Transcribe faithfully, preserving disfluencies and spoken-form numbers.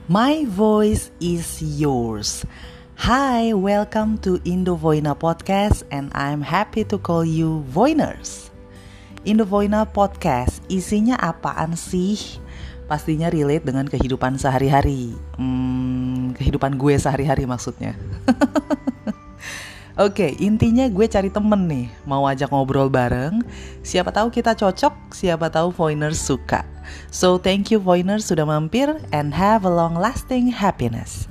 My voice is yours. Hi, welcome to Indo Voina Podcast and I'm happy to call you Voiners. Indo Voina Podcast isinya apaan sih? Pastinya relate dengan kehidupan sehari-hari. Hmm, kehidupan gue sehari-hari maksudnya. Oke, intinya gue cari temen nih, mau ajak ngobrol bareng. Siapa tahu kita cocok, siapa tahu Voiners suka. So thank you Voiners sudah mampir and have a long lasting happiness.